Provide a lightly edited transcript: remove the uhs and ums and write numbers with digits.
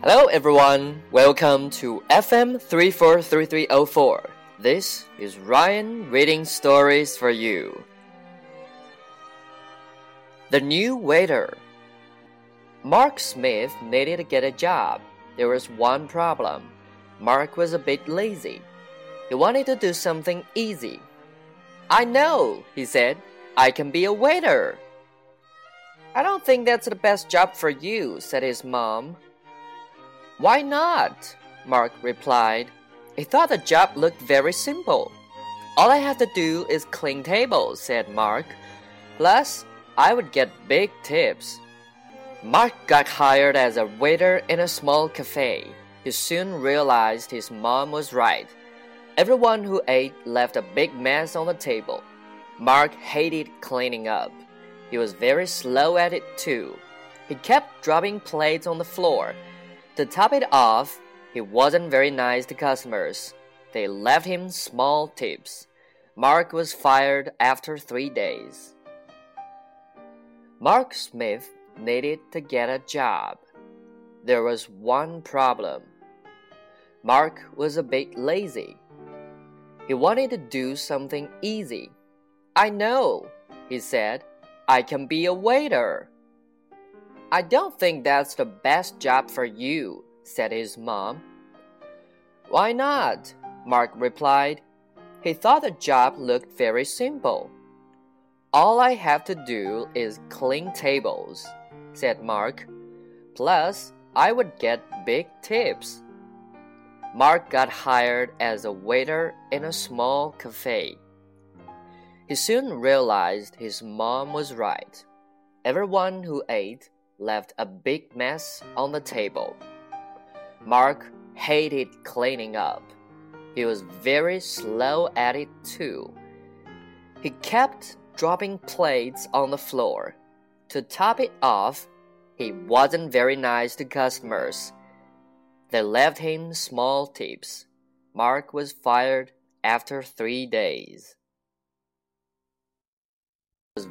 Hello everyone, welcome to FM 343304. This is Ryan reading stories for you. The New Waiter. Mark Smith needed to get a job. There was one problem. Mark was a bit lazy. He wanted to do something easy. I know, he said. I can be a waiter. I don't think that's the best job for you, said his mom.Why not? Mark replied. He thought the job looked very simple. All I have to do is clean tables, said Mark. Plus, I would get big tips. Mark got hired as a waiter in a small cafe. He soon realized his mom was right. Everyone who ate left a big mess on the table. Mark hated cleaning up. He was very slow at it too. He kept dropping plates on the floor.To top it off, he wasn't very nice to customers. They left him small tips. Mark was fired after 3 days. Mark Smith needed to get a job. There was one problem. Mark was a bit lazy. He wanted to do something easy. I know, he said. I can be a waiter.I don't think that's the best job for you, said his mom. Why not? Mark replied. He thought the job looked very simple. All I have to do is clean tables, said Mark. Plus, I would get big tips. Mark got hired as a waiter in a small cafe. He soon realized his mom was right. Everyone who ate,left a big mess on the table. Mark hated cleaning up. He was very slow at it too. He kept dropping plates on the floor. To top it off, he wasn't very nice to customers. They left him small tips. Mark was fired after 3 days.